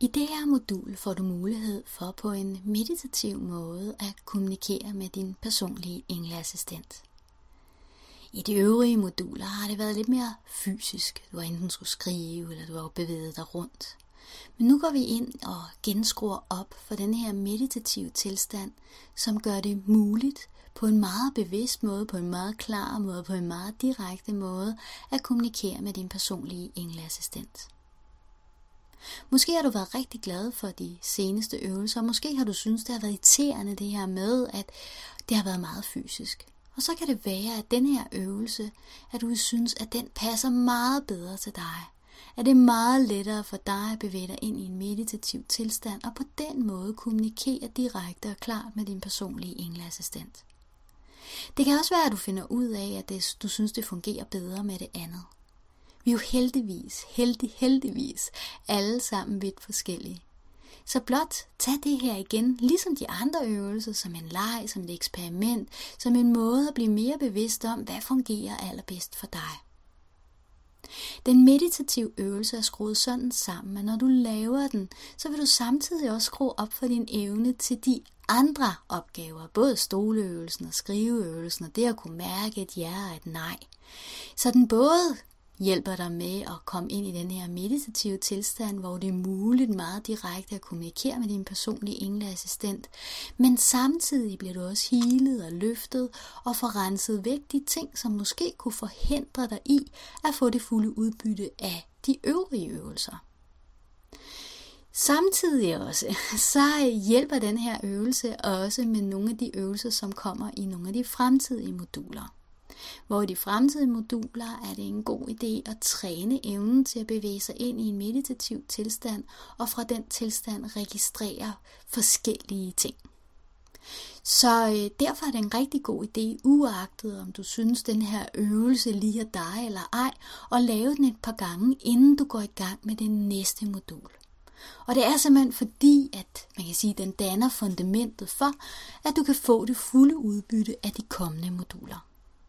I det her modul får du mulighed for på en meditativ måde at kommunikere med din personlige engleassistent. I de øvrige moduler har det været lidt mere fysisk. Du har enten skulle skrive, eller du har bevæget dig rundt. Men nu går vi ind og genskruer op for den her meditative tilstand, som gør det muligt på en meget bevidst måde, på en meget klar måde, på en meget direkte måde at kommunikere med din personlige engleassistent. Måske har du været rigtig glad for de seneste øvelser, måske har du syntes, det har været irriterende det her med, at det har været meget fysisk. Og så kan det være, at den her øvelse, at du synes, at den passer meget bedre til dig. At det er meget lettere for dig at bevæge dig ind i en meditativ tilstand, og på den måde kommunikere direkte og klart med din personlige engleassistent. Det kan også være, at du finder ud af, at du synes, det fungerer bedre med det andet. Vi er jo heldigvis alle sammen vidt forskellige. Så blot tag det her igen, ligesom de andre øvelser, som en leg, som et eksperiment, som en måde at blive mere bevidst om, hvad fungerer allerbedst for dig. Den meditative øvelse er skruet sådan sammen, at når du laver den, så vil du samtidig også skrue op for din evne til de andre opgaver, både stoleøvelsen og skriveøvelsen, og det at kunne mærke et ja og et nej. Så den både hjælper dig med at komme ind i den her meditative tilstand, hvor det er muligt meget direkte at kommunikere med din personlige engleassistent, men samtidig bliver du også healet og løftet og får renset væk de ting, som måske kunne forhindre dig i at få det fulde udbytte af de øvrige øvelser. Samtidig også, så hjælper den her øvelse også med nogle af de øvelser, som kommer i nogle af de fremtidige moduler. Hvor i de fremtidige moduler er det en god idé at træne evnen til at bevæge sig ind i en meditativ tilstand, og fra den tilstand registrere forskellige ting. Så derfor er det en rigtig god idé, uagtet om du synes, den her øvelse lige er dig eller ej, at lave den et par gange, inden du går i gang med det næste modul. Og det er simpelthen fordi, at man kan sige, at den danner fundamentet for, at du kan få det fulde udbytte af de kommende moduler.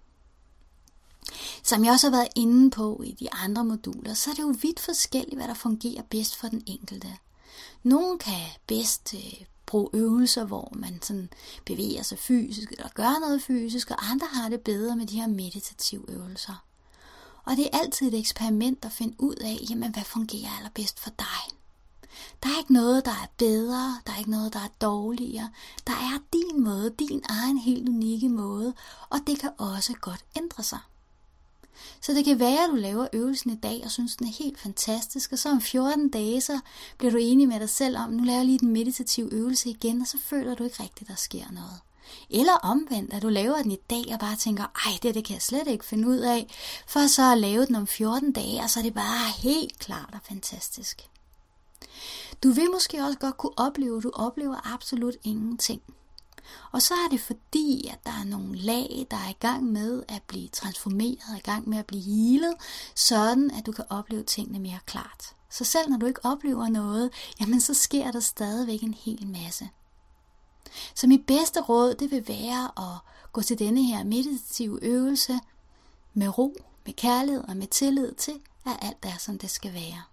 Som jeg også har været inde på i de andre moduler, så er det jo vidt forskelligt, hvad der fungerer bedst for den enkelte. Nogle kan bedst bruge øvelser, hvor man sådan bevæger sig fysisk eller gør noget fysisk, og andre har det bedre med de her meditative øvelser. Og det er altid et eksperiment at finde ud af, jamen, hvad fungerer allerbedst for dig. Der er ikke noget, der er bedre, der er ikke noget, der er dårligere. Der er din måde, din egen helt unikke måde, og det kan også godt ændre sig. Så det kan være, at du laver øvelsen i dag og synes, den er helt fantastisk, og så om 14 dage, så bliver du enig med dig selv om, nu laver jeg lige den meditative øvelse igen, og så føler du ikke rigtigt, der sker noget. Eller omvendt, at du laver den i dag og bare tænker, ej, det kan jeg slet ikke finde ud af, for så at lave den om 14 dage, og så er det bare helt klart og fantastisk. Du vil måske også godt kunne opleve, at du oplever absolut ingenting. Og så er det fordi, at der er nogle lag, der er i gang med at blive transformeret, i gang med at blive healet, sådan at du kan opleve tingene mere klart. Så selv når du ikke oplever noget, jamen så sker der stadigvæk en hel masse. Så mit bedste råd, det vil være at gå til denne her meditative øvelse med ro, med kærlighed og med tillid til, at alt er, som det skal være.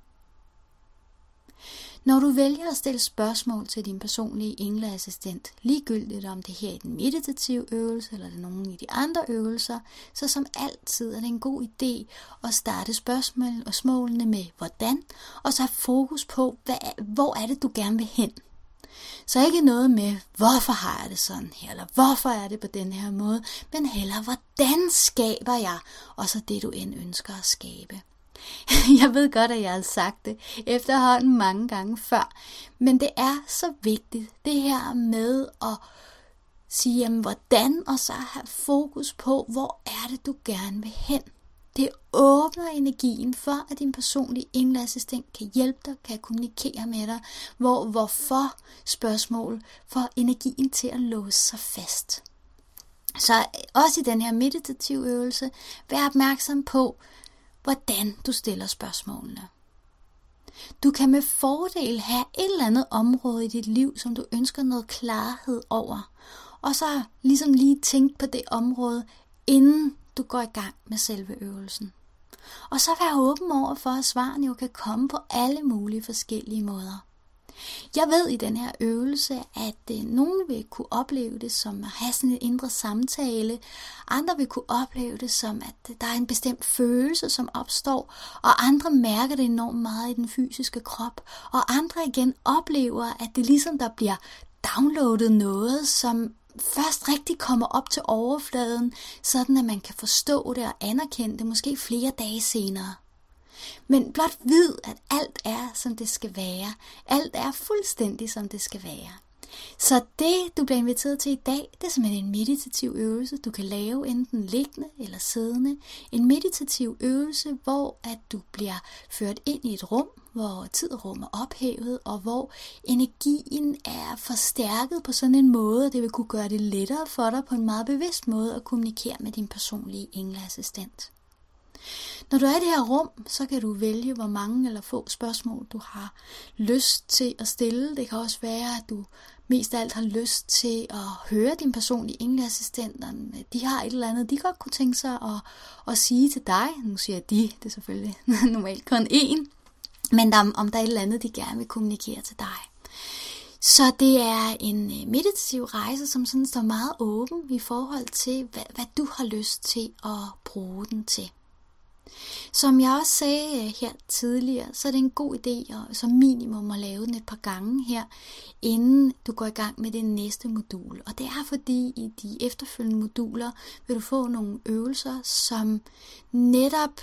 Når du vælger at stille spørgsmål til din personlige engleassistent, ligegyldigt om det her er den meditative øvelse, eller det er nogle af de andre øvelser, så som altid er det en god idé at starte spørgsmålene med hvordan, og så have fokus på, hvor er det du gerne vil hen. Så ikke noget med, hvorfor har jeg det sådan her, eller hvorfor er det på den her måde, men heller, hvordan skaber jeg, og så det du end ønsker at skabe. Jeg ved godt, at jeg har sagt det efterhånden mange gange før, men det er så vigtigt, det her med at sige, jamen hvordan, og så have fokus på, hvor er det, du gerne vil hen. Det åbner energien for, at din personlige engleassistent kan hjælpe dig, kan kommunikere med dig, hvorfor spørgsmål får energien til at låse sig fast. Så også i den her meditative øvelse, vær opmærksom på, hvordan du stiller spørgsmålene. Du kan med fordel have et eller andet område i dit liv, som du ønsker noget klarhed over. Og så ligesom lige tænke på det område, inden du går i gang med selve øvelsen. Og så vær åben over for, at svarene jo kan komme på alle mulige forskellige måder. Jeg ved i den her øvelse, at nogen vil kunne opleve det som at have sådan en indre samtale. Andre vil kunne opleve det som, at der er en bestemt følelse, som opstår. Og andre mærker det enormt meget i den fysiske krop. Og andre igen oplever, at det ligesom der bliver downloadet noget, som først rigtig kommer op til overfladen, sådan at man kan forstå det og anerkende det måske flere dage senere. Men blot vid, at alt er, som det skal være. Alt er fuldstændig, som det skal være. Så det, du bliver inviteret til i dag, det er simpelthen en meditativ øvelse, du kan lave enten liggende eller siddende. En meditativ øvelse, hvor at du bliver ført ind i et rum, hvor tid og rum er ophævet, og hvor energien er forstærket på sådan en måde, at det vil kunne gøre det lettere for dig på en meget bevidst måde at kommunikere med din personlige engleassistent. Når du er i det her rum, så kan du vælge, hvor mange eller få spørgsmål du har lyst til at stille. Det kan også være, at du mest af alt har lyst til at høre din personlige engleassistent. De har et eller andet, de godt kunne tænke sig at sige til dig. Nu siger jeg de, det er selvfølgelig normalt kun én. Men om der er et eller andet, de gerne vil kommunikere til dig. Så det er en meditativ rejse, som sådan står meget åben i forhold til, hvad du har lyst til at bruge den til. Som jeg også sagde her tidligere, så er det en god idé at som minimum at lave den et par gange her, inden du går i gang med det næste modul. Og det er fordi i de efterfølgende moduler vil du få nogle øvelser, som netop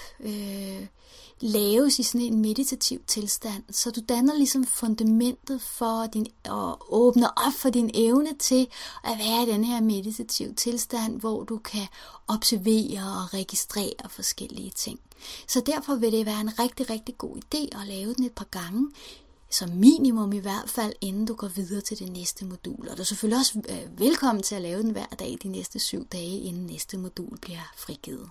laves i sådan en meditativ tilstand, så du danner ligesom fundamentet for og åbner op for din evne til at være i den her meditative tilstand, hvor du kan observere og registrere forskellige ting. Så derfor vil det være en rigtig, rigtig god idé at lave den et par gange, som minimum i hvert fald, inden du går videre til det næste modul. Og du er selvfølgelig også velkommen til at lave den hver dag de næste 7 dage, inden næste modul bliver frigivet.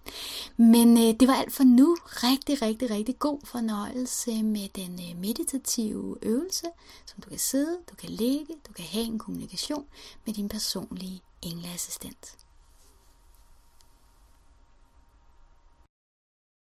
Men det var alt for nu. Rigtig, rigtig, rigtig god fornøjelse med den meditative øvelse, som du kan sidde, du kan ligge, du kan have en kommunikation med din personlige engleassistent.